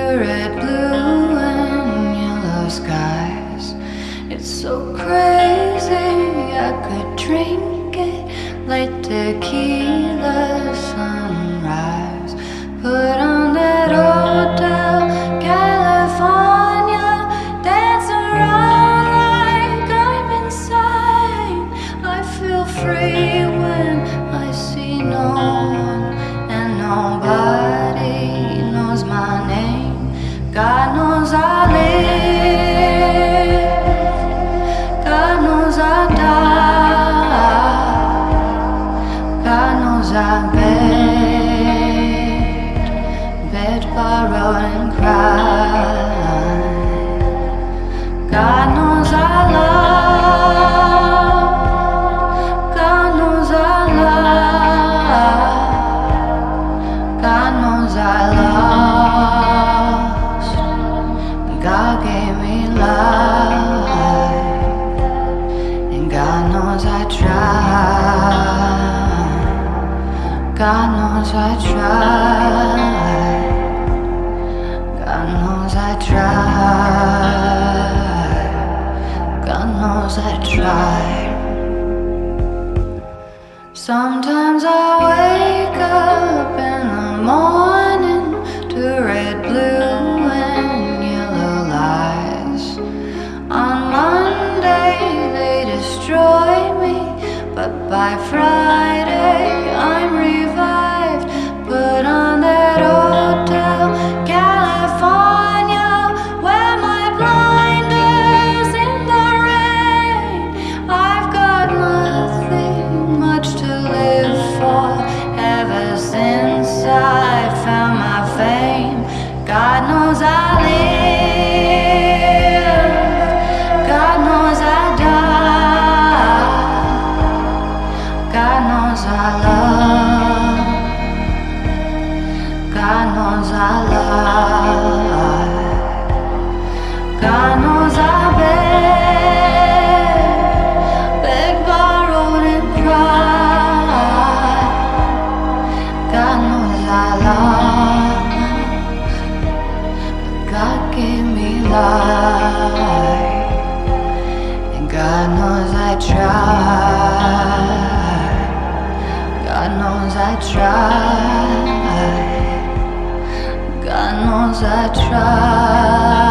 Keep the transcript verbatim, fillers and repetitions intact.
red, blue, and yellow skies. It's so crazy, I could drink it like tequila sunrise. Put on that hotel California, dance around like I'm insane. I feel free when I see no one and nobody knows my name. God knows I live, God knows I die, God knows I beg, beg, borrow and cry. God knows I love, God knows I love, God knows I lost. God gave me life, and God knows I tried. God knows I tried. God knows I tried. God knows I tried. Sometimes I wake up in the morning to red, blue, and yellow lights. On Monday they destroy me, but by Friday I'm revived. Put on that hotel California, wear my blinders in the rain. I've got nothing much to live for ever since I found my fame. God knows I live, God knows I die, God knows I love, God knows I lie, God knows I beg, beg, borrowed and cry. God knows I lost, but God gave me life, and God knows I tried. God knows I tried. God knows I tried.